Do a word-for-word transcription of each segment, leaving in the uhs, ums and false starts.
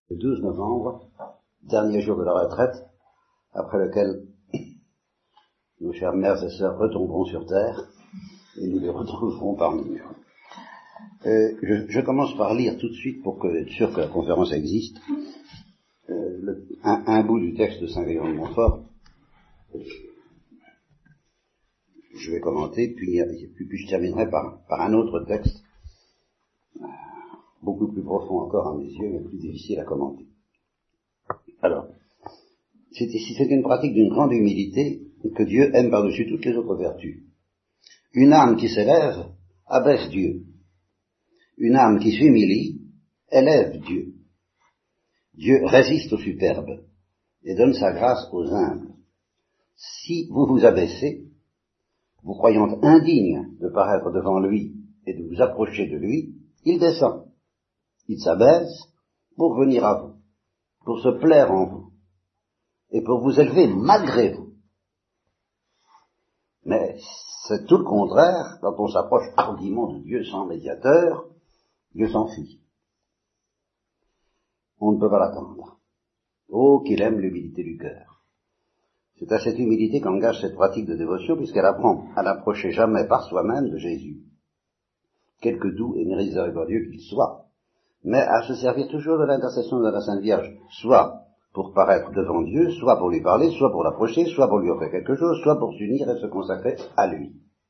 Le douze novembre, dernier jour de la retraite, après lequel nos chères mères et sœurs retomberont sur terre et nous les retrouverons parmi nous. Euh, je, je commence par lire tout de suite, pour que, être sûr que la conférence existe, euh, le, un, un bout du texte de Saint-Léon de Montfort. Je vais commenter, puis, puis, puis je terminerai par, par un autre texte, beaucoup plus profond encore à mes yeux, mais plus difficile à commenter. Alors, c'est, c'est une pratique d'une grande humilité que Dieu aime par-dessus toutes les autres vertus. Une âme qui s'élève abaisse Dieu. Une âme qui s'humilie élève Dieu. Dieu résiste aux superbes et donne sa grâce aux humbles. Si vous vous abaissez, vous croyant indigne de paraître devant lui et de vous approcher de lui, il descend. Il s'abaisse pour venir à vous, pour se plaire en vous, et pour vous élever malgré vous. Mais c'est tout le contraire quand on s'approche hardiment de Dieu sans médiateur. Dieu s'enfuit. On ne peut pas l'attendre. Oh, qu'il aime l'humilité du cœur. C'est à cette humilité qu'engage cette pratique de dévotion, puisqu'elle apprend à n'approcher jamais par soi-même de Jésus, quelque doux et miséricordieux qu'il soit, mais à se servir toujours de l'intercession de la Sainte Vierge, soit pour paraître devant Dieu, soit pour lui parler, soit pour l'approcher, soit pour lui offrir quelque chose, soit pour s'unir et se consacrer à lui.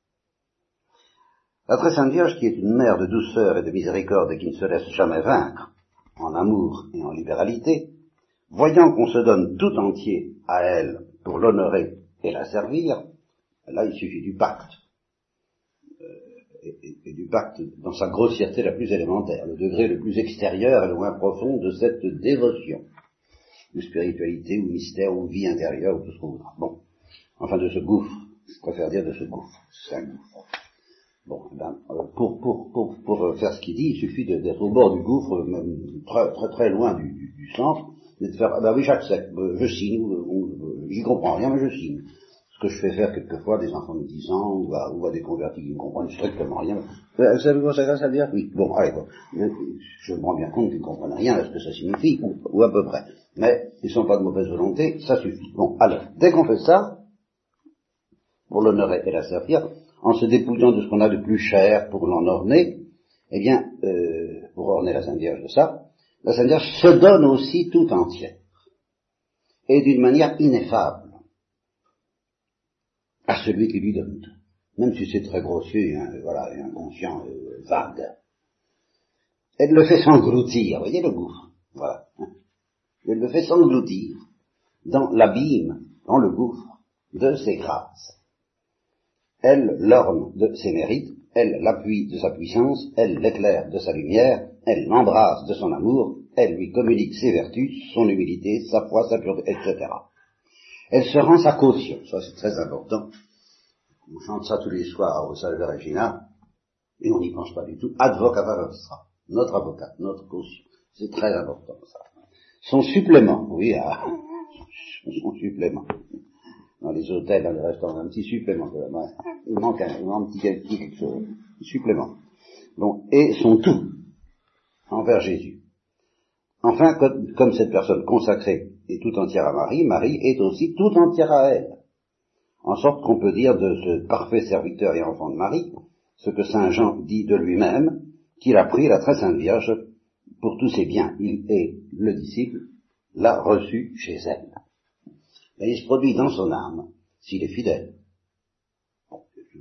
La très Sainte Vierge, qui est une mère de douceur et de miséricorde et qui ne se laisse jamais vaincre, en amour et en libéralité, voyant qu'on se donne tout entier à elle pour l'honorer et la servir, là il suffit du pacte, euh, et, et, et du pacte dans sa grossièreté la plus élémentaire, le degré le plus extérieur et le moins profond de cette dévotion, ou spiritualité, ou mystère, ou vie intérieure, ou tout ce qu'on voudra. Bon, enfin de ce gouffre, je préfère dire de ce gouffre, c'est un gouffre. Bon, ben, pour, pour, pour, pour faire ce qu'il dit, il suffit de, d'être au bord du gouffre, même très très, très loin du, du, du centre, et de faire, ah ben oui, j'accepte, je signe, ou, ou, j'y comprends rien, mais je signe. Ce que je fais faire quelquefois à des enfants de dix ans, ou à, ou à des convertis qui ne comprennent strictement rien. Vous savez quoi ça veut dire? Oui, bon, allez, quoi. Je me rends bien compte qu'ils ne comprennent rien à ce que ça signifie, ou, ou à peu près. Mais ils ne sont pas de mauvaise volonté, ça suffit. Bon, alors, dès qu'on fait ça, pour l'honorer et la servir, en se dépouillant de ce qu'on a de plus cher pour l'en orner, eh bien, euh, pour orner la Sainte Vierge de ça, la Sainte Vierge se donne aussi tout entière, et d'une manière ineffable, à celui qui lui donne tout, même si c'est très grossier, et, hein, voilà, et inconscient, euh, vague. Elle le fait s'engloutir, vous voyez le gouffre, voilà. Elle le fait s'engloutir dans l'abîme, dans le gouffre de ses grâces. Elle l'orne de ses mérites, elle l'appuie de sa puissance, elle l'éclaire de sa lumière, elle l'embrasse de son amour, elle lui communique ses vertus, son humilité, sa foi, sa pureté, et cetera. Elle se rend sa caution, ça c'est très important. On chante ça tous les soirs au Salve Regina, et on n'y pense pas du tout. Advocata nostra, notre avocat, notre caution. C'est très important ça. Son supplément, oui, ah, son supplément. Dans les hôtels, dans les restaurants, un petit supplément. Il manque un, il manque un petit quelque chose. Un supplément. Bon, et son tout envers Jésus. Enfin, comme, comme cette personne consacrée est tout entière à Marie, Marie est aussi tout entière à elle. En sorte qu'on peut dire de ce parfait serviteur et enfant de Marie, ce que saint Jean dit de lui-même, qu'il a pris la très sainte Vierge pour tous ses biens. Il est le disciple, l'a reçu chez elle. Et il se produit dans son âme, s'il est fidèle, bon,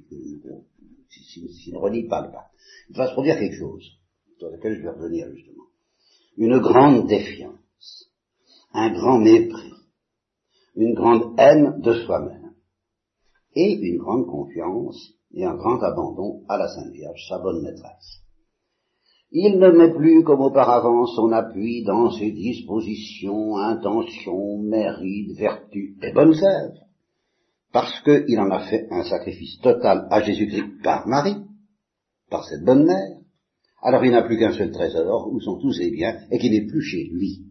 s'il, s'il ne renie pas le pacte, il va se produire quelque chose, sur lequel je vais revenir justement. Une grande défiance, un grand mépris, une grande haine de soi-même, et une grande confiance et un grand abandon à la Sainte Vierge, sa bonne maîtresse. Il ne met plus comme auparavant son appui dans ses dispositions, intentions, mérites, vertus et bonnes œuvres, parce qu'il en a fait un sacrifice total à Jésus-Christ par Marie, par cette bonne mère. Alors il n'a plus qu'un seul trésor, où sont tous ses biens, et qui n'est plus chez lui.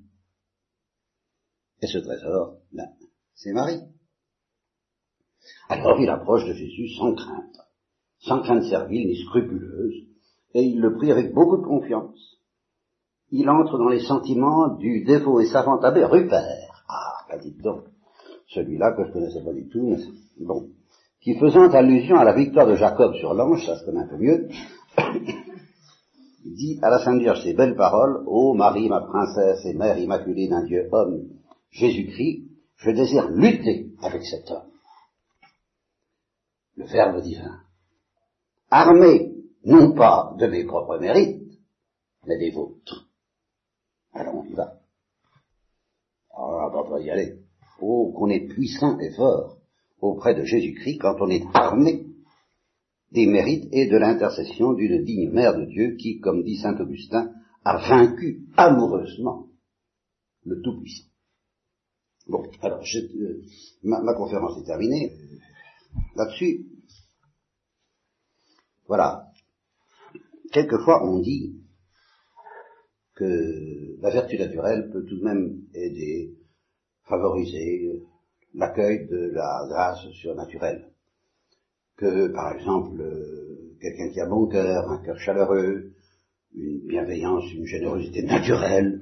Et ce trésor, ben, c'est Marie. Alors il approche de Jésus sans crainte, sans crainte servile ni scrupuleuse, et il le prie avec beaucoup de confiance. il entre dans les sentiments du dévot et savant abbé Rupert. Ah, bah dites donc, celui-là que je connaissais pas du tout, mais bon, qui faisant allusion à la victoire de Jacob sur l'ange, ça se connaît un peu mieux, dit à la Sainte Vierge ces belles paroles: Ô Marie, ma princesse et mère immaculée d'un Dieu homme, Jésus-Christ, je désire lutter avec cet homme, le Verbe divin, armé non pas de mes propres mérites, mais des vôtres. Alors on y va. Alors on va pas y aller. Oh, qu'on est puissant et fort auprès de Jésus-Christ quand on est armé des mérites et de l'intercession d'une digne mère de Dieu qui, comme dit saint Augustin, a vaincu amoureusement le Tout-Puissant. Bon, alors, je, euh, ma, ma conférence est terminée. Là-dessus, voilà. Quelquefois, on dit que la vertu naturelle peut tout de même aider, favoriser l'accueil de la grâce surnaturelle. Que, par exemple, euh, quelqu'un qui a bon cœur, un cœur chaleureux, une bienveillance, une générosité naturelle,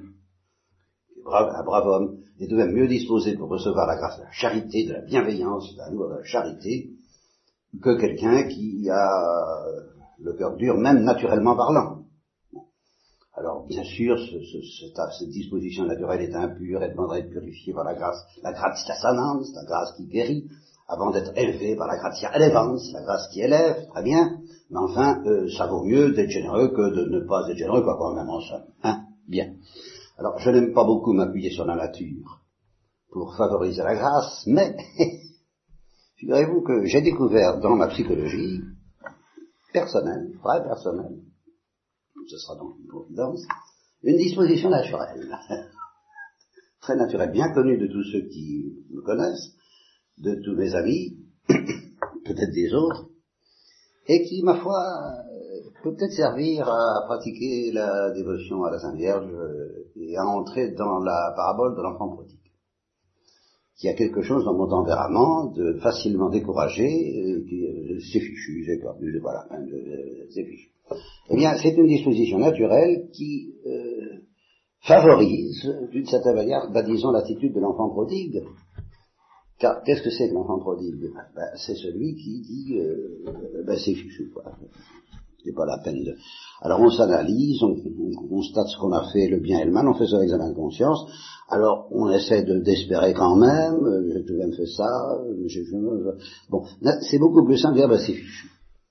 un brave homme, est tout de même mieux disposé pour recevoir la grâce de la charité, de la bienveillance, de l'amour, de la charité, que quelqu'un qui a le cœur dur, même naturellement parlant. Alors, bien sûr, ce, ce, cette, cette disposition naturelle est impure, elle demanderait être purifiée par la grâce, la gratia sanans, la grâce qui guérit, avant d'être élevée par la gratia elevans, la grâce qui élève, très bien, mais enfin, euh, ça vaut mieux d'être généreux que de ne pas être généreux, quoi, quand même en somme. Hein, bien. Alors, je n'aime pas beaucoup m'appuyer sur la nature pour favoriser la grâce, mais figurez-vous que j'ai découvert dans ma psychologie personnelle, très personnelle, ce sera donc une providence, une disposition naturelle, très naturelle, bien connue de tous ceux qui me connaissent, de tous mes amis, peut-être des autres, et qui, ma foi, peut peut-être servir à pratiquer la dévotion à la Sainte Vierge et à entrer dans la parabole de l'enfant prodigue, qui a quelque chose dans mon tempérament de facilement découragé, euh, qui euh, c'est fichu, j'ai perdu, voilà, hein, euh, c'est fichu. Eh bien, c'est une disposition naturelle qui euh, favorise, d'une certaine manière, bah, disons, l'attitude de l'enfant prodigue. Car qu'est-ce que c'est que l'enfant prodigue? Ben, c'est celui qui dit euh, ben, c'est fichu, quoi. C'est pas la peine de... Alors on s'analyse, on, on constate ce qu'on a fait, le bien et le mal, on fait son examen de conscience, alors on essaie de, d'espérer quand même, euh, j'ai tout de même fait ça, j'ai, je, bon, là, c'est beaucoup plus simple de dire ben, c'est fichu.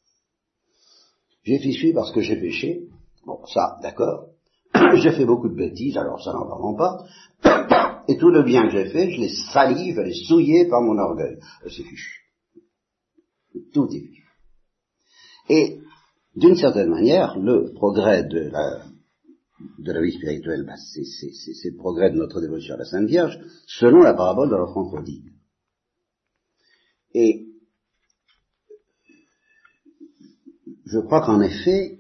J'ai fichu parce que j'ai péché, bon ça, d'accord, j'ai fait beaucoup de bêtises, alors ça n'en parlons pas, et tout le bien que j'ai fait, je l'ai sali, je l'ai souillé par mon orgueil, c'est fichu. Tout est fichu. Et d'une certaine manière, le progrès de la, de la vie spirituelle, ben c'est, c'est, c'est, c'est le progrès de notre dévotion à la Sainte Vierge, selon la parabole de l'enfant prodigue. Et je crois qu'en effet,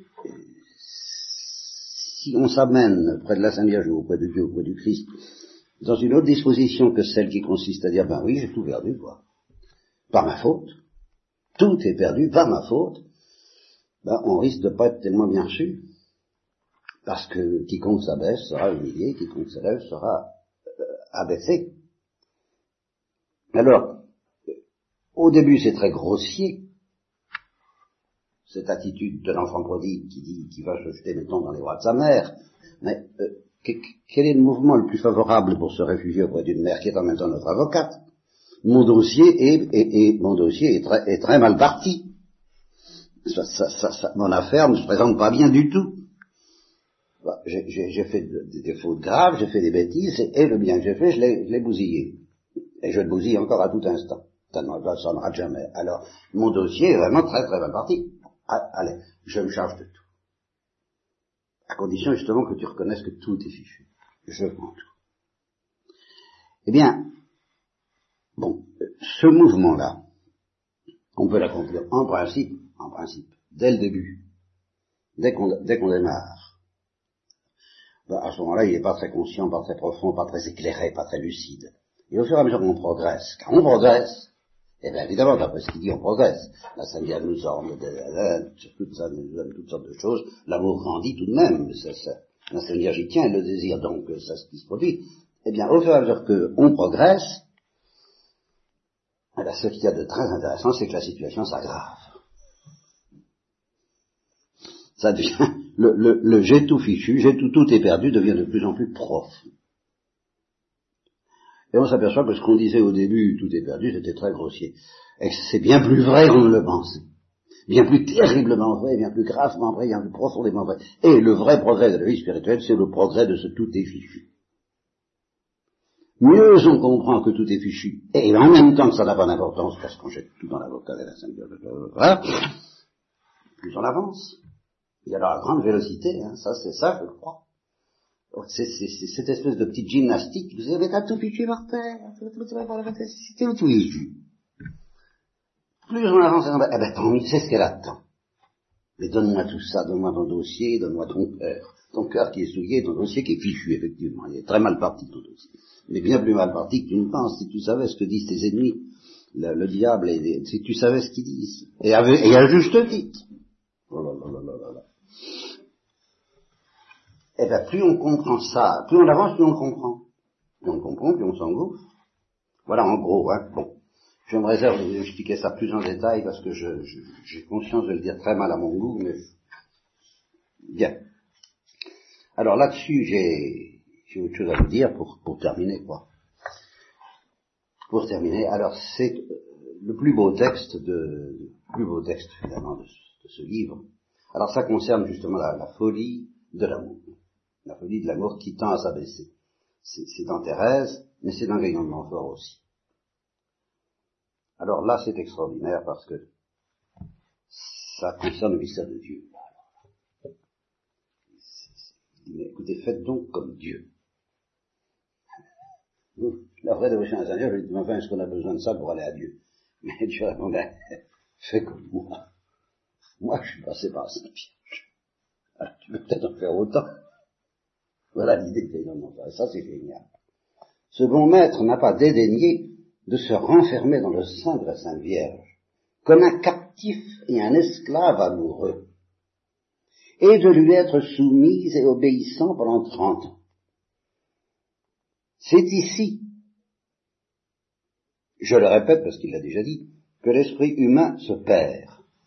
si on s'amène près de la Sainte Vierge ou auprès de Dieu, auprès du Christ, dans une autre disposition que celle qui consiste à dire, ben oui, j'ai tout perdu, quoi, par ma faute, tout est perdu par ma faute, ben, on risque de ne pas être tellement bien reçu, parce que quiconque s'abaisse sera humilié, quiconque s'élève sera euh, abaissé. Alors, au début c'est très grossier, cette attitude de l'enfant prodigue qui dit, qui va se jeter, mettons, dans les bras de sa mère, mais euh, quel est le mouvement le plus favorable pour se réfugier auprès d'une mère qui est en même temps notre avocate? Mon dossier est, est, est, mon dossier est très, est très mal parti. Ça, ça, ça, ça, mon affaire ne se présente pas bien du tout. Bah, j'ai, j'ai, j'ai fait de, de, des fautes graves, j'ai fait des bêtises, et, et le bien que j'ai fait, je l'ai, je l'ai bousillé. Et je le bousille encore à tout instant. Ça ne ça ne rate jamais. Alors, mon dossier est vraiment très très mal parti. Ah, allez, je me charge de tout. À condition justement que tu reconnaisses que tout est fichu. Je prends tout. Eh bien, bon, ce mouvement-là, on peut l'accomplir en principe, en principe, dès le début, dès qu'on, dès qu'on démarre. Ben, à ce moment-là, il n'est pas très conscient, pas très profond, pas très éclairé, pas très lucide. Et au fur et à mesure qu'on progresse, car on progresse, eh bien évidemment, d'après ce qu'il dit, on progresse. La Sainte Vierge nous orne, sur toutes, ça, nous donne toutes sortes de choses, l'amour grandit tout de même, c'est, c'est, La Sainte Vierge y tient, elle le désire, donc ça ce qui se produit. Eh bien, au fur et à mesure qu'on progresse, eh bien, ce qu'il y a de très intéressant, c'est que la situation s'aggrave. Ça devient, le, le, le j'ai tout fichu, j'ai tout, tout est perdu, devient de plus en plus profond. Et on s'aperçoit que ce qu'on disait au début, tout est perdu, c'était très grossier. Et c'est bien plus vrai qu'on ne le pensait. Bien plus terriblement vrai, bien plus gravement vrai, bien plus profondément vrai. Et le vrai progrès de la vie spirituelle, c'est le progrès de ce tout est fichu. Mieux on comprend que tout est fichu, et en même temps que ça n'a pas d'importance, parce qu'on jette tout dans l'avocat de la Sainte Vierge, voilà, plus on avance. Il y a la grande vélocité, hein, ça c'est ça, je le crois. C'est, c'est, c'est cette espèce de petite gymnastique, vous avez un tout fichu par terre, c'était le tout fichu. Plus on avance, eh ben tant mieux, c'est ce qu'elle attend. Mais donne-moi tout ça, donne-moi ton dossier, donne-moi ton cœur. Ton cœur qui est souillé, ton dossier qui est fichu, effectivement. Il est très mal parti, ton dossier. Il est bien plus mal parti que tu ne penses. Si tu savais ce que disent tes ennemis, le, le diable, et les, si tu savais ce qu'ils disent. Et, avec, et à juste titre. Oh là là là là là là. Eh bien, plus on comprend ça, plus on avance, plus on comprend. Plus on comprend, plus on s'engouffre. Voilà, en gros, hein. Bon. Je me réserve de vous expliquer ça plus en détail parce que je, je, j'ai conscience de le dire très mal à mon goût, mais bien. Alors là-dessus, j'ai, j'ai autre chose à vous dire pour, pour terminer, quoi. Pour terminer, alors c'est le plus beau texte de, le plus beau texte finalement de, de ce livre. Alors ça concerne justement la, la folie de l'amour, la folie de l'amour qui tend à s'abaisser. C'est, c'est dans Thérèse, mais c'est dans Guyon de Montfort aussi. Alors là, c'est extraordinaire parce que ça concerne le mystère de Dieu. Il dit, mais écoutez, faites donc comme Dieu. La vraie dévotion à Saint-Dieu, je lui dis, mais enfin, est-ce qu'on a besoin de ça pour aller à Dieu? Mais Dieu répondait, fais comme moi. Moi, je suis passé par Saint-Vierge. Alors, tu peux peut-être en faire autant. Voilà l'idée de l'événement. Ça, c'est génial. Ce bon maître n'a pas dédaigné de se renfermer dans le sein de la Sainte Vierge, comme un captif et un esclave amoureux, et de lui être soumise et obéissant pendant trente ans. C'est ici, je le répète parce qu'il l'a déjà dit, que l'esprit humain se perd.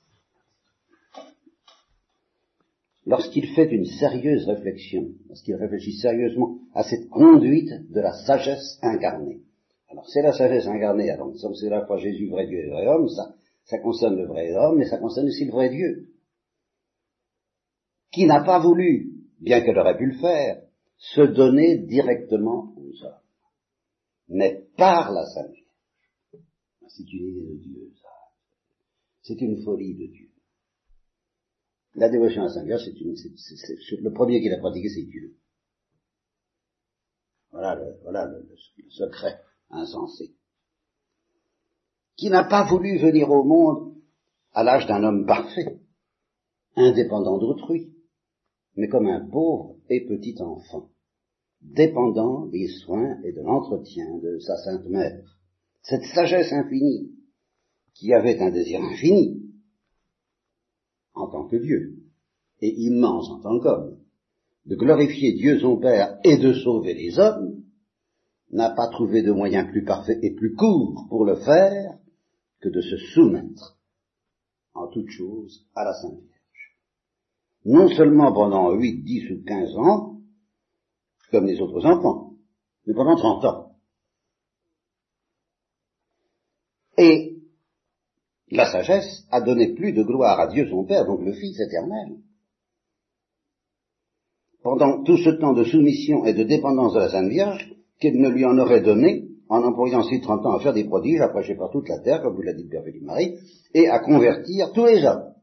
Lorsqu'il fait une sérieuse réflexion, lorsqu'il réfléchit sérieusement à cette conduite de la sagesse incarnée. Alors c'est la sagesse incarnée, alors c'est la fois Jésus, vrai Dieu et vrai homme, ça, ça concerne le vrai homme, mais ça concerne aussi le vrai Dieu, qui n'a pas voulu, bien qu'elle aurait pu le faire, se donner directement aux hommes, mais par la Sainte Vierge. C'est une idée de Dieu, ça. C'est une folie de Dieu. La dévotion à Sainte Vierge, c'est une, c'est, c'est, c'est, le premier qui l'a pratiqué, c'est Dieu. Voilà le, voilà le, le secret insensé. Qui n'a pas voulu venir au monde à l'âge d'un homme parfait, indépendant d'autrui, mais comme un pauvre et petit enfant, dépendant des soins et de l'entretien de sa sainte mère. Cette sagesse infinie, qui avait un désir infini, en tant que Dieu, et immense en tant qu'homme, de glorifier Dieu son Père et de sauver les hommes, n'a pas trouvé de moyen plus parfait et plus court pour le faire que de se soumettre en toute chose à la Sainte Vierge. Non seulement pendant huit, dix ou quinze ans, comme les autres enfants, mais pendant trente ans. Et la sagesse a donné plus de gloire à Dieu son Père, donc le Fils éternel. Pendant tout ce temps de soumission et de dépendance de la Sainte Vierge, qu'elle ne lui en aurait donné, en employant ces trente ans à faire des prodiges, à prêcher par toute la terre, comme vous l'a dit Père Philippe Marie, et à convertir tous les hommes.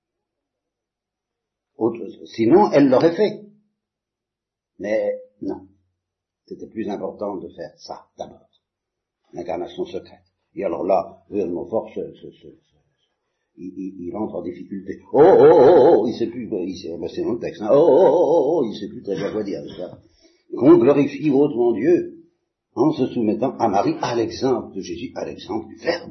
Sinon, elle l'aurait fait. Mais non. C'était plus important de faire ça, d'abord. L'incarnation secrète. Et alors là, Guyon de Montfort, ce, ce, ce, il, il, il entre en difficulté. Oh, oh, oh, oh, il sait plus, il sait, ben c'est dans le texte, hein. Oh, oh, oh, oh, il sait plus très bien quoi dire, ça. Qu'on glorifie hautement Dieu, en se soumettant à Marie, à l'exemple de Jésus, à l'exemple du Verbe.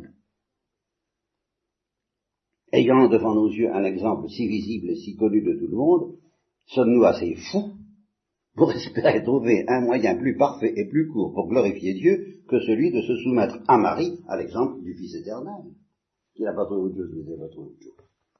Ayant devant nos yeux un exemple si visible et si connu de tout le monde, sommes-nous assez fous pour espérer trouver un moyen plus parfait et plus court pour glorifier Dieu que celui de se soumettre à Marie, à l'exemple du Fils éternel. Il n'a pas trouvé autre chose, il n'a pas trouvé autre chose.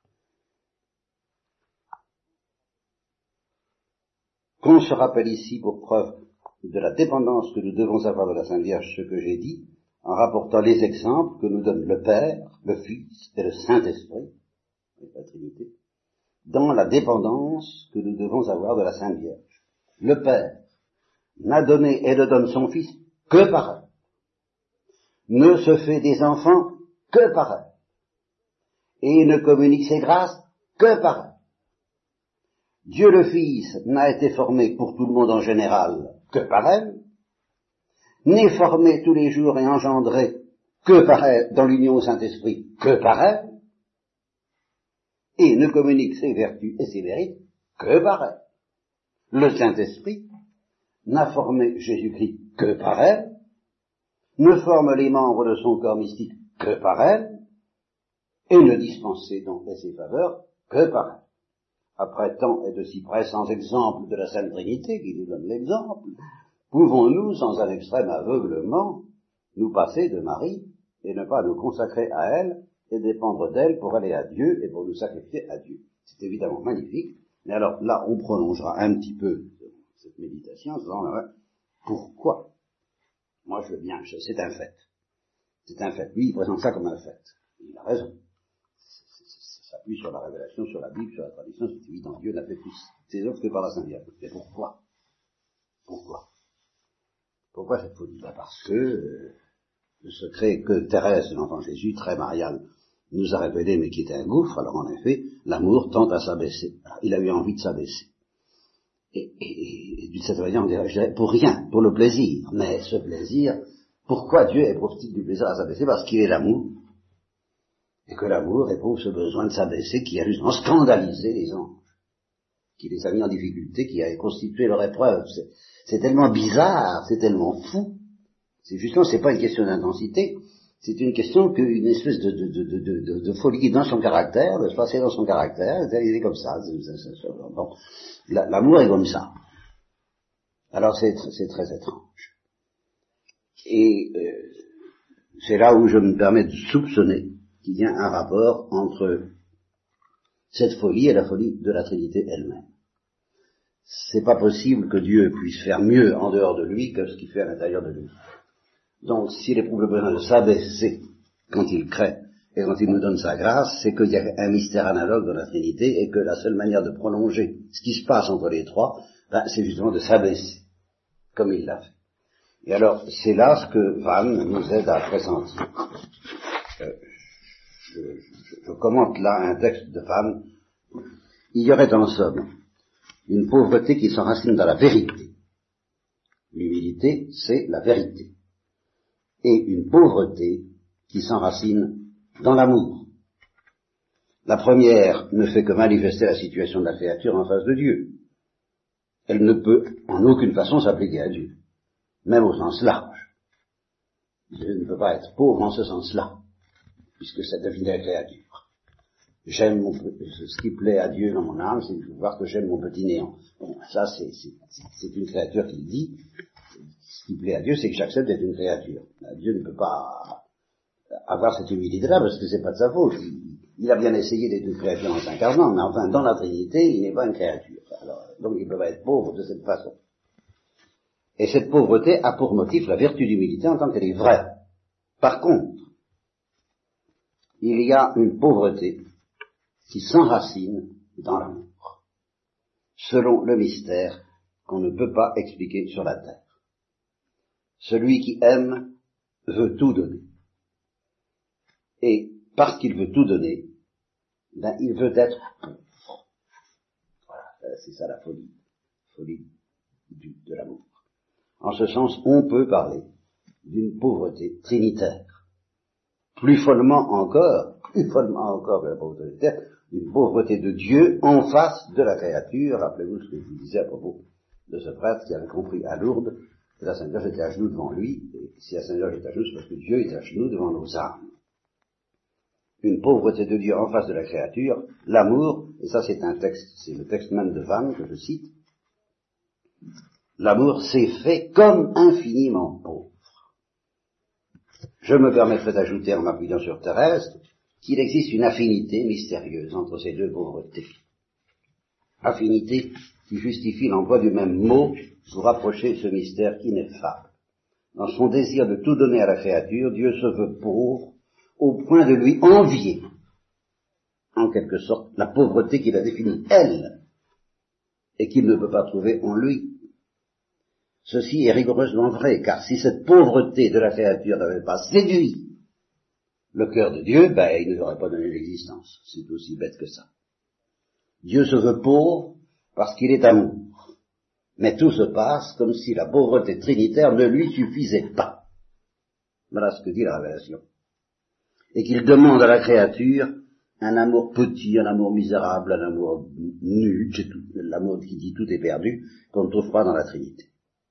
Qu'on se rappelle ici pour preuve de la dépendance que nous devons avoir de la Sainte Vierge, ce que j'ai dit, en rapportant les exemples que nous donne le Père, le Fils et le Saint-Esprit, la Trinité, dans la dépendance que nous devons avoir de la Sainte Vierge. Le Père n'a donné et ne donne son Fils que par elle, ne se fait des enfants que par elle, et ne communique ses grâces que par elle. Dieu le Fils n'a été formé pour tout le monde en général que par elle, n'est formé tous les jours et engendré que par elle dans l'union au Saint-Esprit que par elle, et ne communique ses vertus et ses mérites que par elle. Le Saint-Esprit n'a formé Jésus-Christ que par elle, ne forme les membres de son corps mystique que par elle, et ne dispense ses dons et ses faveurs que par elle. Après tant et de si pressants exemples de la Sainte Trinité qui nous donne l'exemple, pouvons-nous, sans un extrême aveuglement, nous passer de Marie et ne pas nous consacrer à elle et dépendre d'elle pour aller à Dieu et pour nous sacrifier à Dieu? C'est évidemment magnifique, mais alors là on prolongera un petit peu cette méditation en disant, ouais, pourquoi? Moi je veux bien, je, c'est un fait. C'est un fait. Lui il présente ça comme un fait. Il a raison. Ça s'appuie sur la révélation, sur la Bible, sur la tradition, c'est évident. Dieu n'a fait plus ses œuvres que par la Sainte Vierge. Mais pourquoi? Pourquoi? Pourquoi cette folie? Ben parce que euh, le secret que Thérèse de l'Enfant Jésus, très mariale, nous a révélé, mais qui était un gouffre, alors en effet, l'amour tend à s'abaisser. Alors, il a eu envie de s'abaisser. Et, et, et d'une certaine manière, on dirait, je dirais, pour rien, pour le plaisir. Mais ce plaisir, pourquoi Dieu éprouve-t-il du plaisir à s'abaisser? Parce qu'il est l'amour. Et que l'amour éprouve ce besoin de s'abaisser qui a justement scandalisé les anges, qui les a mis en difficulté, qui a constitué leur épreuve. C'est, c'est tellement bizarre, c'est tellement fou. C'est justement, c'est pas une question d'intensité, c'est une question qu'une espèce de, de, de, de, de, de folie dans son caractère, de se passer dans son caractère, il est comme ça. C'est, c'est, c'est, bon. L'amour est comme ça. Alors c'est, c'est très étrange. Et euh, c'est là où je me permets de soupçonner qu'il y a un rapport entre cette folie et la folie de la Trinité elle-même. C'est pas possible que Dieu puisse faire mieux en dehors de lui que ce qu'il fait à l'intérieur de lui. Donc, s'il éprouve le besoin de s'abaisser quand il crée et quand il nous donne sa grâce, c'est qu'il y a un mystère analogue dans la Trinité et que la seule manière de prolonger ce qui se passe entre les trois, ben, c'est justement de s'abaisser, comme il l'a fait. Et alors, c'est là ce que Vannes nous aide à pressentir. Euh, Je, je, je commente là un texte de Vannes. Il y aurait en somme une pauvreté qui s'enracine dans la vérité. L'humilité, c'est la vérité. Et une pauvreté qui s'enracine dans l'amour. La première ne fait que manifester la situation de la créature en face de Dieu. Elle ne peut en aucune façon s'appliquer à Dieu, même au sens large. Dieu ne peut pas être pauvre en ce sens-là, puisque ça devient la créature. J'aime mon, ce qui plaît à Dieu dans mon âme, c'est de voir que j'aime mon petit néant. Bon, ça c'est, c'est, c'est une créature qui le dit. Ce qui plaît à Dieu, c'est que j'accepte d'être une créature. Dieu ne peut pas avoir cette humilité-là parce que c'est pas de sa faute. Il, il a bien essayé d'être une créature en s'incarnant, mais enfin, dans la Trinité, il n'est pas une créature. Alors, donc il ne peut pas être pauvre de cette façon. Et cette pauvreté a pour motif la vertu d'humilité en tant qu'elle est vraie. Par contre, il y a une pauvreté qui s'enracine dans l'amour, selon le mystère qu'on ne peut pas expliquer sur la terre. Celui qui aime veut tout donner. Et parce qu'il veut tout donner, ben, il veut être pauvre. Voilà, c'est ça la folie, folie du, de l'amour. En ce sens, on peut parler d'une pauvreté trinitaire. Plus follement encore, plus follement encore que la pauvreté trinitaire, une pauvreté de Dieu en face de la créature. Rappelez-vous ce que je vous disais à propos de ce prêtre qui avait compris à Lourdes que la Sainte Vierge était à genoux devant lui, et si la Sainte Vierge est à genoux, c'est parce que Dieu est à genoux devant nos âmes. Une pauvreté de Dieu en face de la créature, l'amour, et ça c'est un texte, c'est le texte même de Vannes que je cite, l'amour s'est fait comme infiniment pauvre. Je me permettrai d'ajouter, en m'appuyant sur Thérèse, qu'il existe une affinité mystérieuse entre ces deux pauvretés. Affinité qui justifie l'emploi du même mot pour rapprocher ce mystère ineffable. Dans son désir de tout donner à la créature, Dieu se veut pauvre au point de lui envier, en quelque sorte, la pauvreté qu'il a définie, elle, et qu'il ne peut pas trouver en lui. Ceci est rigoureusement vrai, car si cette pauvreté de la créature n'avait pas séduit le cœur de Dieu, ben, il ne lui aurait pas donné l'existence. C'est aussi bête que ça. Dieu se veut pauvre parce qu'il est amour. Mais tout se passe comme si la pauvreté trinitaire ne lui suffisait pas. Voilà ce que dit la Révélation. Et qu'il demande à la créature un amour petit, un amour misérable, un amour nul, c'est tout, l'amour qui dit tout est perdu, qu'on ne trouve pas dans la Trinité.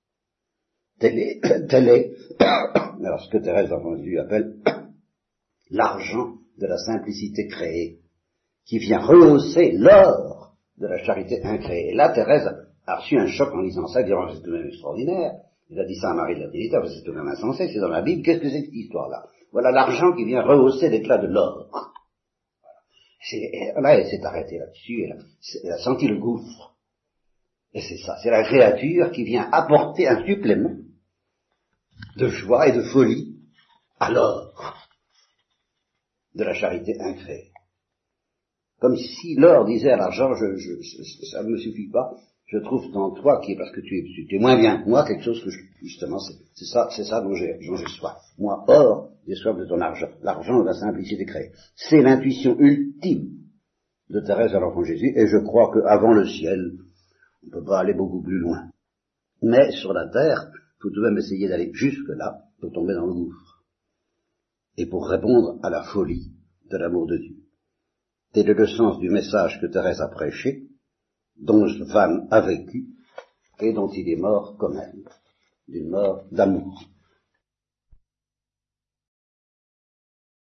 Tel est, tel est alors ce que Thérèse d'Enfant Jésus appelle l'argent de la simplicité créée, qui vient rehausser l'or de la charité incréée. Et là, Thérèse a reçu un choc en lisant ça, disant, c'est tout de même extraordinaire. Il a dit ça à Marie de la Trinité, c'est tout de même insensé, c'est dans la Bible, qu'est-ce que c'est que cette histoire-là? Voilà l'argent qui vient rehausser l'éclat de l'or. C'est, là, elle s'est arrêtée là-dessus, elle a, elle a senti le gouffre. Et c'est ça, c'est la créature qui vient apporter un supplément de joie et de folie à l'or de la charité incréée. Comme si l'or disait à l'argent, je, je, je, ça ne me suffit pas, je trouve en toi, qui est parce que tu es, tu es moins bien que moi, quelque chose que je, justement, c'est, c'est ça, c'est ça dont j'ai, dont j'ai soif. Moi, or, j'ai soif de ton argent, l'argent de la simplicité créée. C'est l'intuition ultime de Thérèse à l'Enfant Jésus, et je crois qu'avant le ciel, on ne peut pas aller beaucoup plus loin. Mais sur la terre, il faut tout de même essayer d'aller jusque-là pour tomber dans le gouffre. Et pour répondre à la folie de l'amour de Dieu. Tel est le sens du message que Thérèse a prêché, dont Van a vécu, et dont il est mort comme elle, d'une mort d'amour.